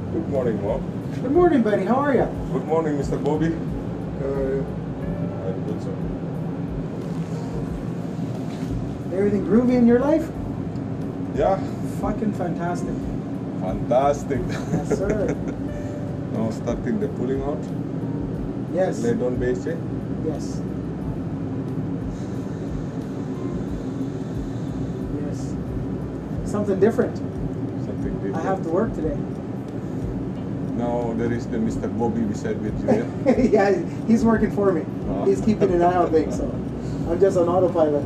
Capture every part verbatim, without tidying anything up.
Good morning, Mom. Good morning, buddy. How are you? Good morning, Mister Bobby. Good. I'm good, sir. Everything groovy in your life? Yeah, Fucking fantastic. fantastic. Yes, sir. Now starting the pulling out. Yes. Lay down base, eh? Yes. Yes. Something different. Something different. I have to work today. Now there is the Mister Bobby beside with you. Eh? Yeah, he's working for me. Oh. He's keeping an eye on things, so I'm just on autopilot.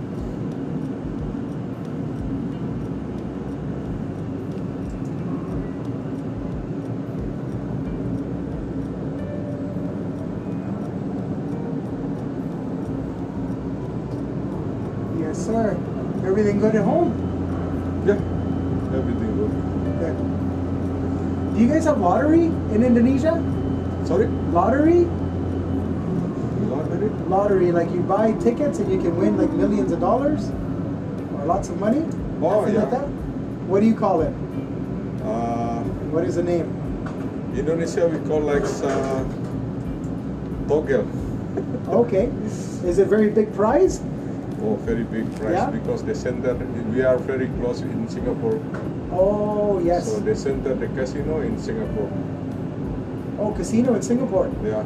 Yes, sir. Everything good at home? Yeah, everything good. Good. Do you guys have lottery in Indonesia? Sorry? Lottery? Lottery? Lottery, like you buy tickets and you can win like millions of dollars or lots of money? Oh, Something yeah. like that? What do you call it? Uh, What is the name? Indonesia we call like uh, togel. Okay. Is it very big prize? Oh, very big price Yeah? because the center, we are very close in Singapore. Oh, yes. So they center the casino in Singapore. Oh, casino in Singapore. Yeah.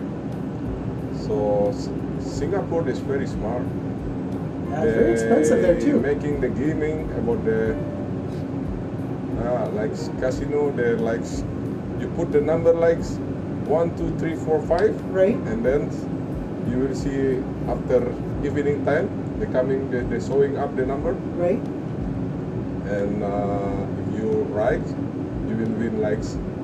So S- Singapore is very smart. Yeah, it's very expensive there They too. Making the gaming about the uh, like casino. They're like you put the number like one, two, three, four, five, Right? and then you will see after evening time they coming they they showing up the number, Right? and uh, if you right, you will win like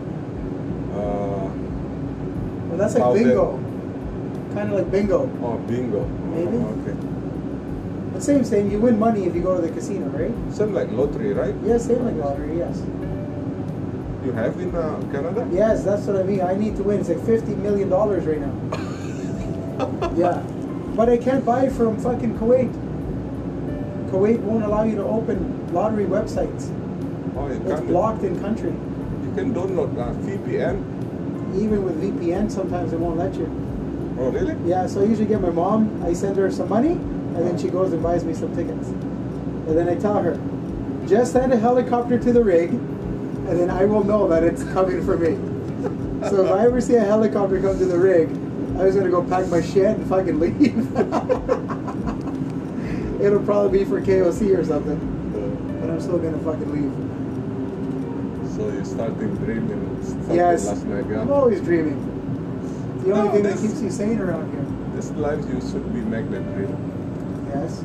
uh, Well, that's like thousand. bingo. Kind of like bingo. Oh, bingo. Maybe. Oh, okay. The same thing. You win money if you go to the casino, right? Same like lottery, right? Yeah, same like lottery, yes. You have in uh, Canada? Yes, that's what I mean. I need to win. It's like fifty million dollars right now. Yeah. But I can't buy from fucking Kuwait. Kuwait won't allow you to open lottery websites. Oh, you It's can. blocked in country. You can download uh, V P N. Even with V P N, sometimes it won't let you. Oh, really? Yeah, so I usually get my mom, I send her some money, and then she goes and buys me some tickets. And then I tell her, just send a helicopter to the rig, and then I will know that it's coming for me. So if I ever see a helicopter come to the rig, I was gonna go pack my shit and fucking leave. It'll probably be for K O C or something, but I'm still gonna fucking leave. So you're starting dreaming something Yes, last night, yeah? I'm always dreaming. The only No, thing that this- keeps you sane around here. This life you should be make that dream. Yes.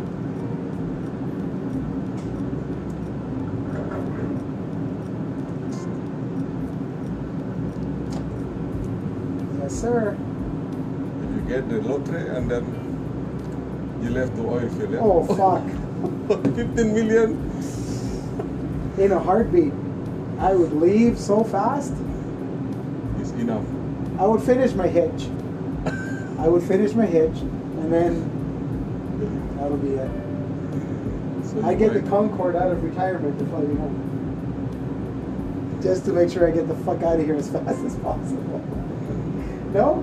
Yes, sir. If you get the lottery and then you left the oil field, yeah? Oh, fuck. fifteen million? In a heartbeat. I would leave so fast. Is enough. I would finish my hitch. I would finish my hitch, and then that'll be it. So I you get the might- Concorde out of retirement to fly me home. Just to make sure I get the fuck out of here as fast as possible. No?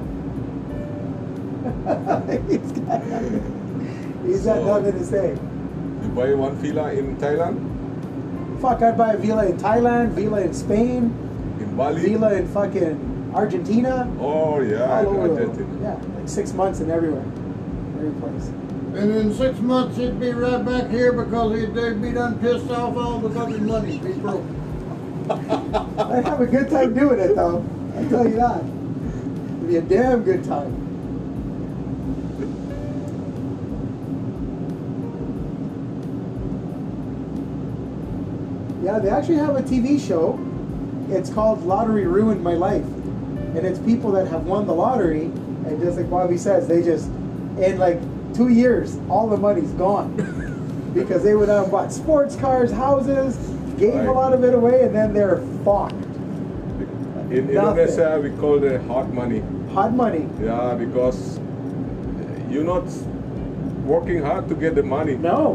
he's got, he's got So- nothing to say. You buy one villa in Thailand, Fuck, I'd buy a villa in Thailand, villa in Spain, in Bali. villa in fucking Argentina. Oh yeah, all over the world. Argentina. Yeah, like six months and everywhere. Every place. And in six months he'd be right back here because he'd, they'd be done pissed off all the fucking money. Be broke. I'd have a good time doing it though. I'll tell you that. It'd be a damn good time. Yeah, they actually have a T V show. It's called Lottery Ruined My Life. And it's people that have won the lottery, and just like Bobby says, they just, in like two years, all the money's gone. Because they would have bought sports cars, houses, gave a Right. lot of it away, and then they're fucked. In Nothing. Indonesia, we call it hot money. Hot money. Yeah, because you're not working hard to get the money. No.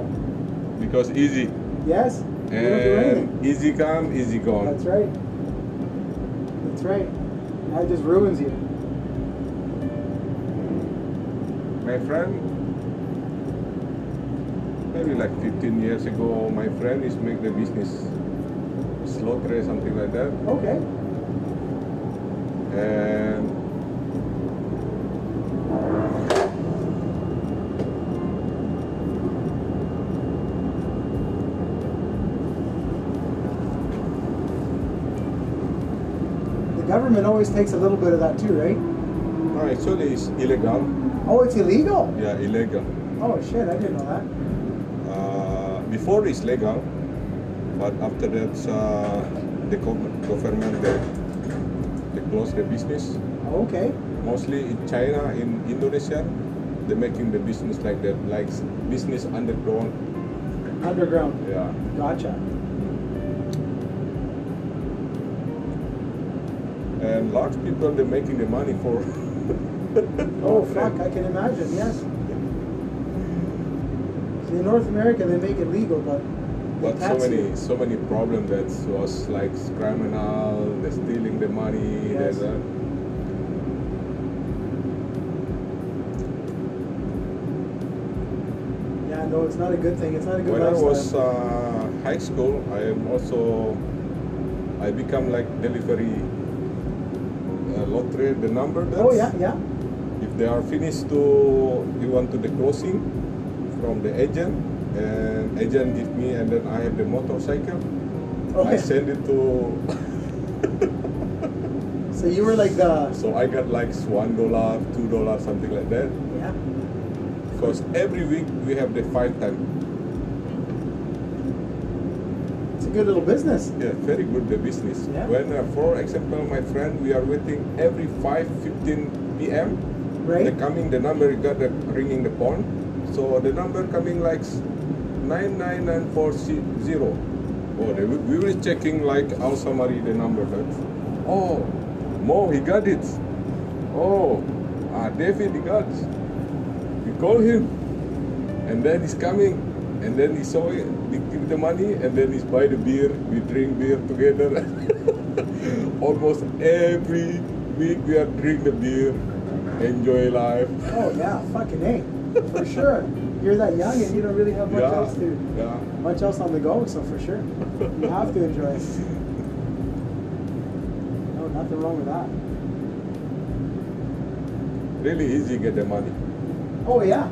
Because easy. Yes. You don't do anything. And easy come, easy gone. That's right. That's right. That just ruins you. My friend, maybe like fifteen years ago, my friend is make the business slaughter, something like that. Okay. And The government always takes a little bit of that too, right? no, actually it's illegal. Oh, it's illegal. Yeah, illegal. Oh shit, I didn't know that. Uh, before it's legal, but after that uh, the gov- government they, they close the business. Okay. Mostly in China, in Indonesia, they're making the business like that, like business underground. Underground. Yeah. Gotcha. And large people they're making the money for. Oh fuck, I can imagine. Yes. See, in North America they make it legal, but they But so tax many, you. so many problems that was like criminal, they're stealing the money. Yes. There's a, Yeah, no, it's not a good thing. It's not a good when I lifestyle. was uh, high school, I am also I become like delivery uh, lottery the number. That's, Oh yeah, yeah. If they are finished to you want to the closing from the agent, and agent give me, and then I have the motorcycle. I Okay. send it to. So you were like the So I got like one dollar, two dollar, something like that. yeah. Because every week we have the five time. It's a good little business. Yeah, very good the business. Yeah. When, uh, for example, my friend, we are waiting every five fifteen p m. Right. The coming, the number you got the ringing the phone. So the number coming like nine nine nine four zero. Oh, they, will- we will checking like our summary the number. That. Oh, Mo, he got it. Oh, ah, David, he got it. We call him, and then he's coming, and then he saw it, we give the money, and then he's buy the beer, we drink beer together. Almost every week we are drink the beer, enjoy life. Oh yeah, fucking A. For sure. You're that young and you don't really have much Yeah, else to yeah. much else on the go, so for sure. You have to enjoy it. No, nothing wrong with that. Really easy get the money. Oh yeah.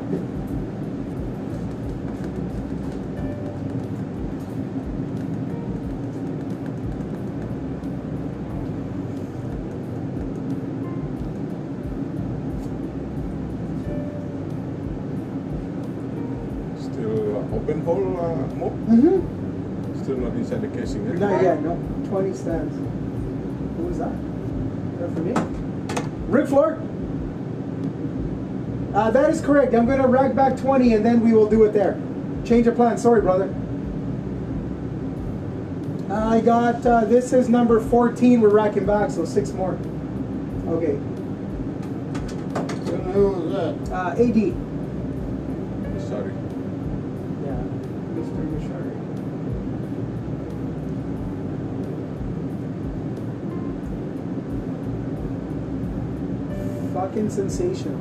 Still uh, open hole, uh, Mo? Mm-hmm. Still not inside the casing. eh? Not yet, no. twenty stands. Who was that? Is that for me? Rick Floor? Uh, that is correct. I'm going to rack back twenty and then we will do it there. Change of plan. Sorry, brother. I got, uh, this is number fourteen. We're racking back, so six more. Okay. And who was that? Uh, A D. Sorry. Yeah, Mister Mishari. Fucking sensational.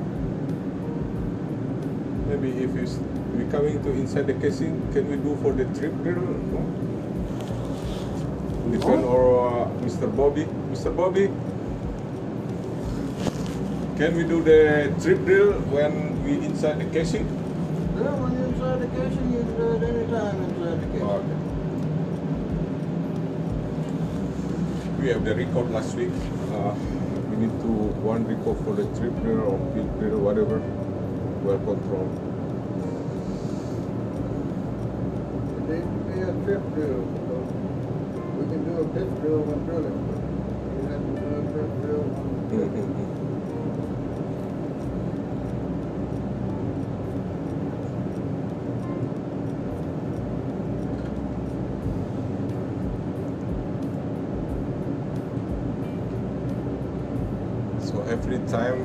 Maybe if it's we coming to inside the casing, can we do for the trip drill? No? Depend or uh, Mister Bobby. Mister Bobby, can we do the trip drill when we inside the casing? Yeah, when you're inside the casing, you can do it anytime inside the casing. Okay. We have the record last week. Uh, we need to one record for the trip drill or pit drill, whatever. Well controlled. It needs to be a trip drill. So we can do a pit drill when drilling, but you have to do a trip drill when So every time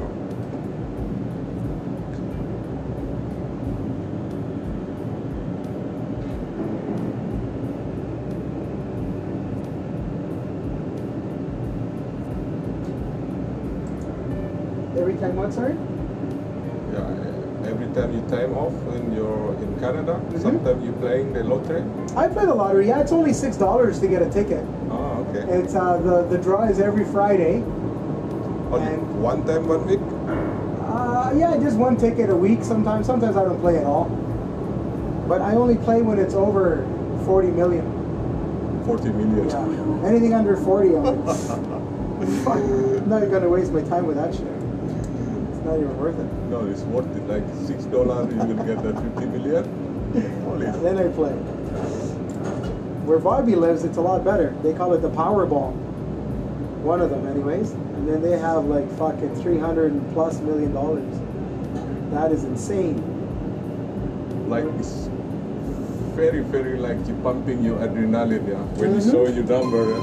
Every time what, sorry? Yeah, every time you time off when you're in Canada, Mhm. sometimes you're playing the lottery. I play the lottery. Yeah, it's only six dollars to get a ticket. Ah, okay. It's uh, the the draw is every Friday. Only and- one time one week. Uh, yeah, just one ticket a week. Sometimes, sometimes I don't play at all. But I only play when it's over forty million. Forty million. Yeah. Anything under forty, I'm like, fuck, I'm not gonna waste my time with that shit. It's not even worth it. No, it's worth it. Like six dollars, you will get that fifty million. Holy. Then I play. Where Bobby lives, it's a lot better. They call it the Powerball. One of them, anyways. And then they have like fucking three hundred plus million dollars. That is insane. Like it's very, very like you pumping your adrenaline, yeah. When you Mhm. show your number. Yeah?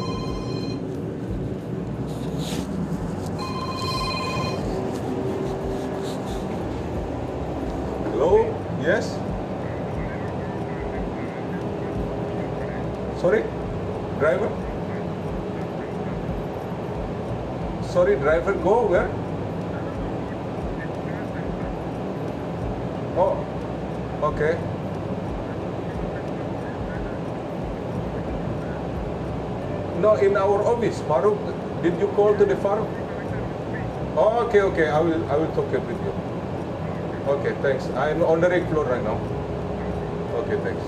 Hello? Yes? Sorry? Driver? Sorry, driver, go where? Oh, okay. No, in our office, Farooq. Did you call to the Farooq? Oh, okay, okay. I will, I will talk it with you. Okay, thanks. I'm on the rig floor right now. Okay, thanks.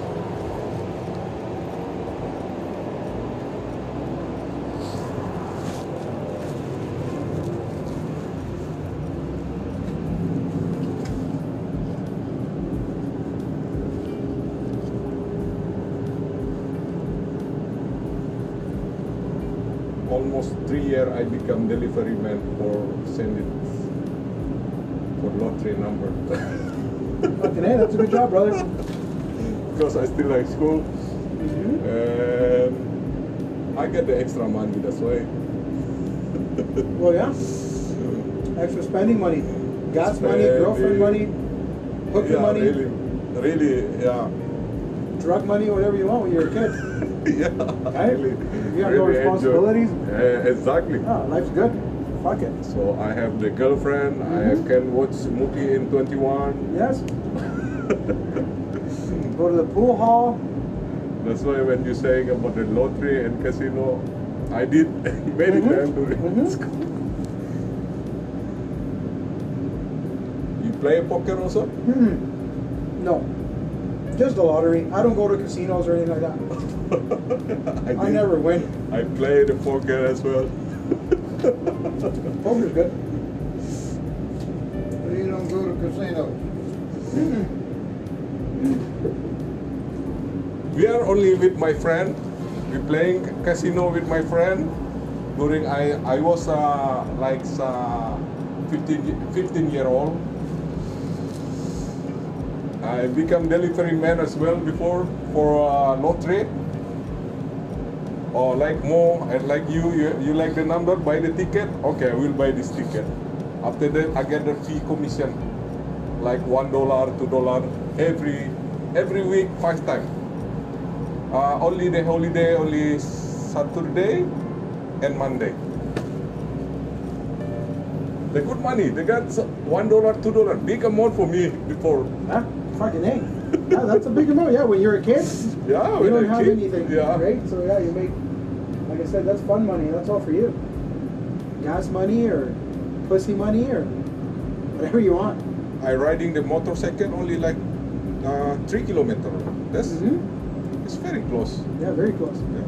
Almost three year I become delivery man for send it for lottery number. Fucking hey, that's a good job, brother. Because I still like school Mhm. and I get the extra money, that's why. Well, yeah. Extra spending money, gas money, girlfriend money, hooker Yeah, money, really, really, yeah. drug money, whatever you want when you're a kid. Yeah, Right? really, You have no really enjoy- responsibilities? Uh, exactly. Oh, life's good. Fuck it. So I have the girlfriend, I Mhm. can watch movie in twenty-one. Yes. Go to the pool hall. That's why when you're saying about the lottery and casino, I did many Mhm. times during Mhm. school. You play poker also? Hmm. No. Just the lottery. I don't go to casinos or anything like that. I did. never win. I play the poker as well. Poker's good. So you don't go to casinos? We are only with my friend. We playing casino with my friend. During I I was uh, like uh, fifteen, fifteen year old. I become delivery man as well before for uh, lottery. Or like more and like you, you, you like the number, buy the ticket. Okay, I will buy this ticket. After that, I get the fee commission, like one dollar, two dollar every every week, five times. Uh, only the holiday, only Saturday and Monday. They good money. They got one dollar, two dollar, big amount for me before. Huh? Fucking A. Yeah, that's a big amount. Yeah, when you're a kid, Yeah, you when don't I have kid, anything, yeah. right? So yeah, you make, like I said, that's fun money. That's all for you. Gas money or pussy money or whatever you want. I riding the motorcycle only like uh, three kilometer. That's Mhm. it's very close. Yeah, very close. Yeah.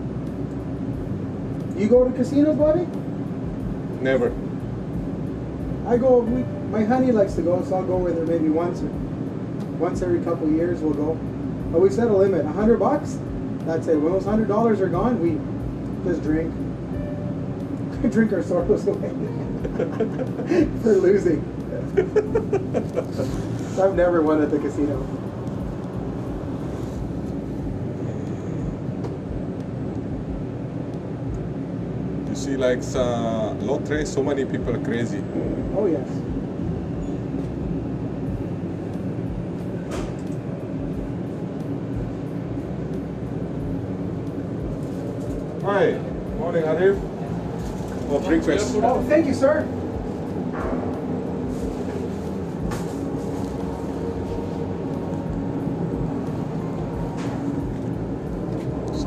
You go to casinos, Bobby? Never. I go. We, my honey likes to go, so I'll go with her maybe once or once every couple of years. We'll go, but we set a limit, a hundred bucks. That's it. When those hundred dollars are gone, we just drink, drink our sorrows away for losing. So I've never won at the casino. You see, like uh, lottery, so many people are crazy. Oh yes. Hi, morning, Arif. Oh, breakfast. Oh, thank you, sir.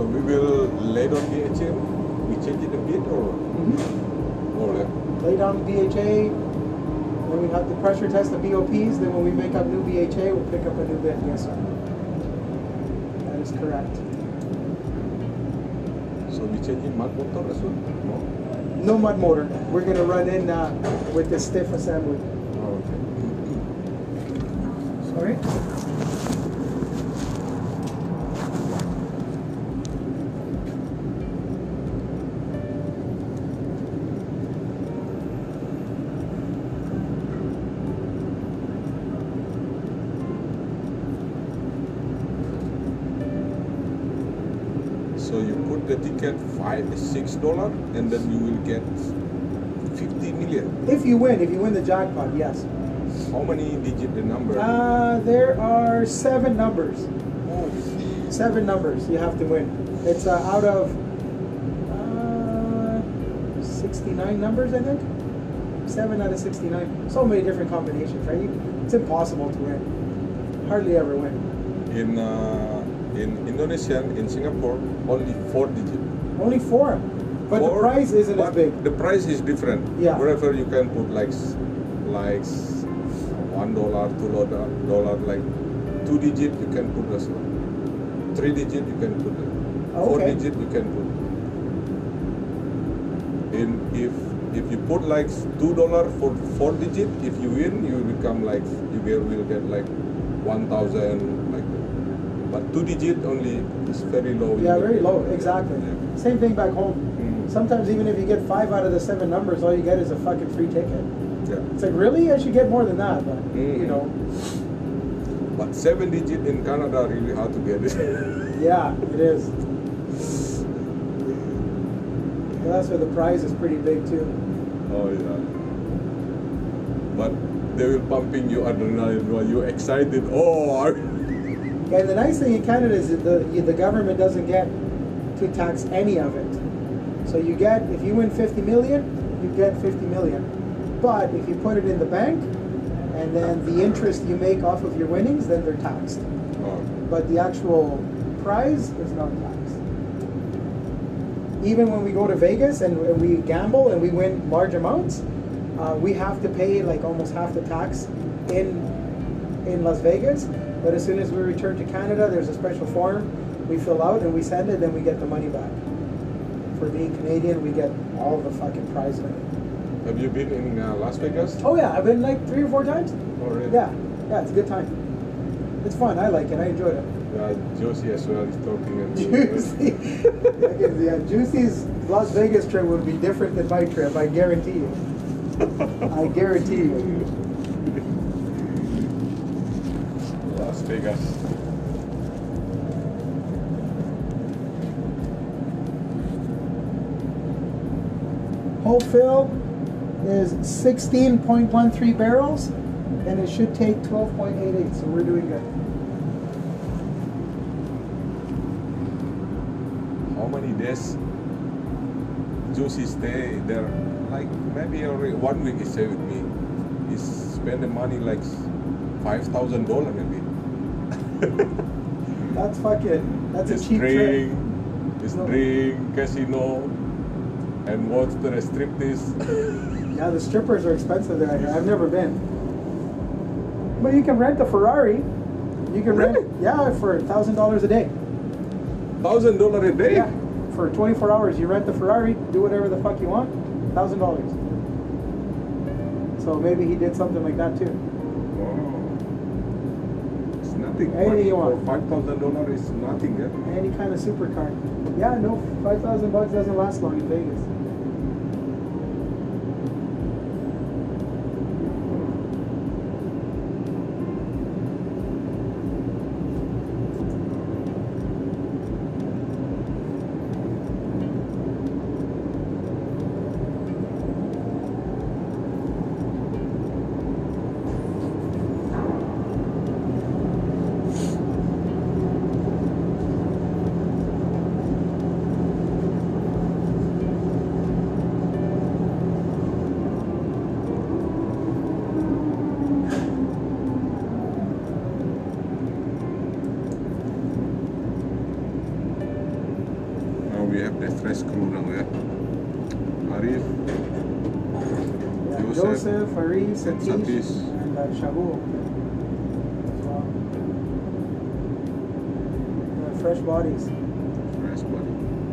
So we will lay on D H A. We change it a bit or Mm-hmm. or like Lay down D H A, then we have to pressure test the B O Ps, then when we make up new B H A, we'll pick up a new bit. Yes, sir. That is correct. so we change in mud motor as well? No. No mud motor. We're going to run in uh, with the stiff assembly. Oh, okay. Sorry? So you put the ticket five, six dollar, and then you will get fifty million. If you win, if you win the jackpot, yes. How many digit the number? Uh, there are seven numbers. Oh, Seven numbers you have to win. It's uh, out of uh, sixty-nine numbers, I think. Seven out of sixty-nine. So many different combinations, right? You, it's impossible to win. Hardly ever win. in uh, in Indonesia, in Singapore, only four digit. Only four. But the Four, prize isn't as but big. The price is different. Yeah. Wherever you can put like s- like s- one dollar, two dollar, dollar, like two digit you can put as well. Three digit you can put. it. Oh, Four okay. digit you can put. In if if you put like two dollar for four digit, if you win, you become like you get, will get like one thousand like that. But two digit only is very low. Yeah, You very get- low. Exactly. Yeah. Same thing back home. Mm. Sometimes even if you get five out of the seven numbers, all you get is a fucking free ticket. Yeah. It's like, really? I should get more than that, but Mm. you know, But seven digit in Canada really hard to get it. yeah, it is. Well, that's where the prize is pretty big too. Oh yeah. But they will pumping you adrenaline while you excited. Oh, I- And the nice thing in Canada is that the the government doesn't get to tax any of it. So you get, if you win fifty million, you get fifty million. But if you put it in the bank, and then the interest you make off of your winnings, then they're taxed. oh. But the actual prize is not taxed. Even when we go to Vegas and, and we gamble and we win large amounts, uh, we have to pay like almost half the tax in in Las Vegas. But as soon as we return to Canada, there's a special form we fill out and we send it, then we get the money back. For being Canadian, we get all the fucking prize money. Have you been in uh, Las Vegas? Oh yeah, I've been like three or four times. Already? Yeah, yeah, it's a good time. It's fun. I like it. I enjoyed it. Yeah, Josie as well is talking and Juicy. Yeah, Juicy's Las Vegas trip would be different than my trip. I guarantee you. I guarantee you. Las Vegas. Whole fill is sixteen point one three barrels, and it should take twelve point eight eight. So we're doing good. How many days Josie stay there? Like maybe already one week he stay with me. He spend the money like five thousand dollar maybe. That's fucking. That's His a cheap trip. drink, his No. drink, casino, and watch the striptease. Yeah, the strippers are expensive there. I've never been. But you can rent a Ferrari. You can Really? rent, yeah, for a thousand dollars a day. Thousand dollar a day. Yeah, for twenty-four hours, you rent the Ferrari, do whatever the fuck you want, thousand dollars. So maybe he did something like that too. Wow. It's nothing. Anything you want. Five thousand dollar is nothing. Yeah? Any kind of supercar. Yeah, no, five thousand bucks doesn't last long in Vegas. crew now ya. Arif, Yeah, Joseph, Joseph, Aris, and Satish, Satish. and uh, Shabu. So, uh, fresh bodies. Fresh body.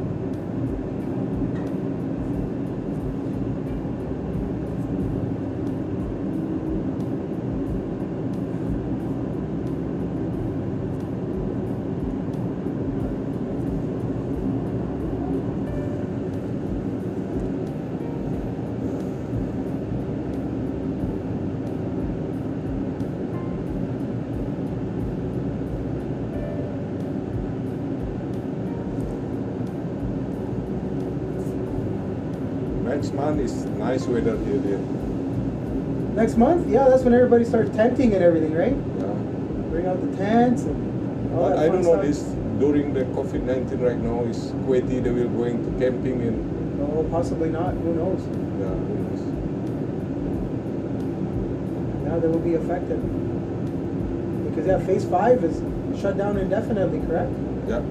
Next month is nice weather here. There. Next month, yeah, that's when everybody starts tenting and everything, right? Yeah. Bring out the tents and all But that I fun don't know stuff. this during the COVID nineteen right now is Kuwaiti they will going to camping and No, possibly not. Who knows? yeah, who knows. Now they will be affected. Because yeah, phase five is shut down indefinitely, correct? Yeah.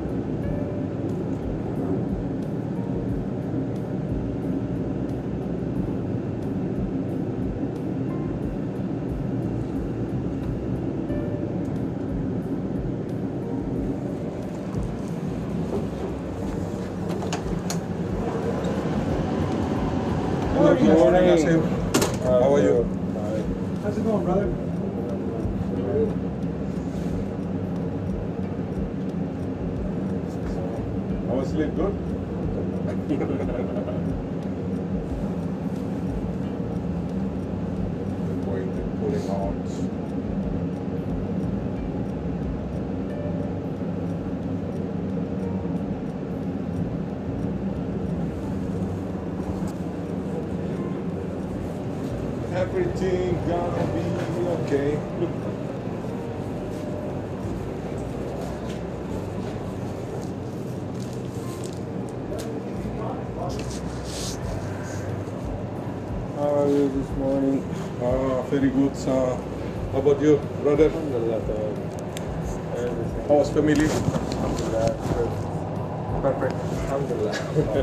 Hello, good morning, Asim. How are you? How's it going, brother? I was sleep good. Going to pulling out. Everything gonna be okay. How are you this morning? Ah, very good. Uh, how about you, brother? Alhamdulillah, tamam. Everything. How's family? Alhamdulillah. Perfect. Alhamdulillah.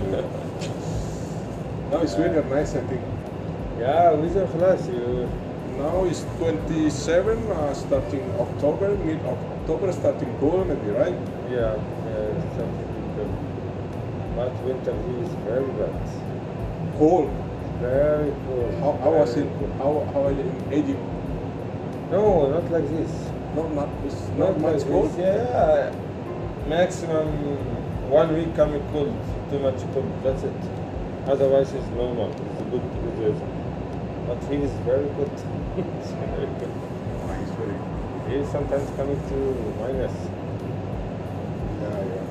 Now it's weather nice, I think. Yeah, weather خلاص. You Now it's twenty-seven, uh, starting October, mid-October, starting cool maybe, right? yeah, yeah, something good. But winter here is very bad. Cold. Very cold. How, how was Very it? cold. How, how are you in Egypt? No, not like this. Not, not, it's not much like cold? this. Yeah, maximum one week coming cold. Too much cold. That's it. Otherwise, it's normal. It's a good weather. But here is very good. It's very good. Nice, very Here is sometimes coming to minus. Yeah, yeah.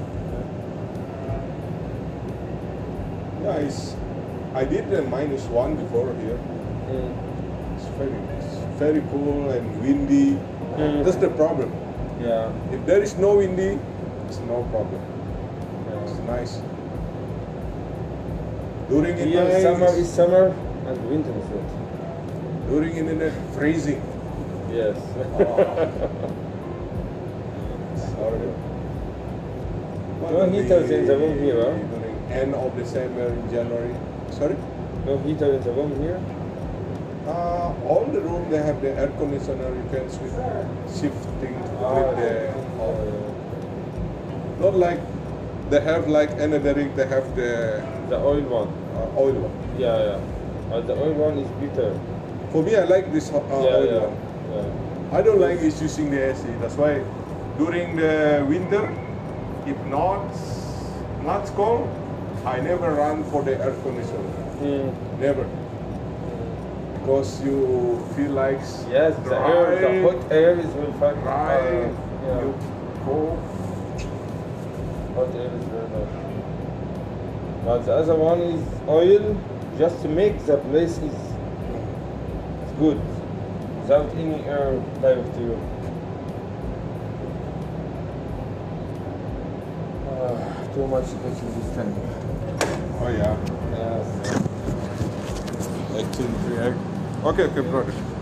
Yeah, it's, I did the minus one before here. Mm. It's very, it's very cool and windy. Mm. That's the problem. Yeah. If there is no windy, it's no problem. It's yeah. nice. During the Here night, summer it's- is summer and winter is winter. during in the night, freezing. Yes. Sorry. No heaters in the room here, huh? During end of December, January. Sorry? No heater in the room here? Uh, all the room they have the air conditioner. You can switch, shifting to Ah, with the. oh, yeah. Not like they have like another rig. They have the The oil one. uh, oil one. Yeah, yeah. But the oil one is bitter. For me, I like this uh, yeah, oil yeah. one. Yeah. I don't like is using the A C. That's why during the winter, if not not cold, I never run for the air conditioner. Mm. Never. Because you feel like Yes, the air, the dry, hot air is very fun. dry, Uh, yeah. you go. Hot air is very bad. But the other one is oil, just to make the place is it's good, without any air direct to you. Uh, too much cooking this time. Oh yeah. Yes. Like two, three egg. Okay, okay, brother.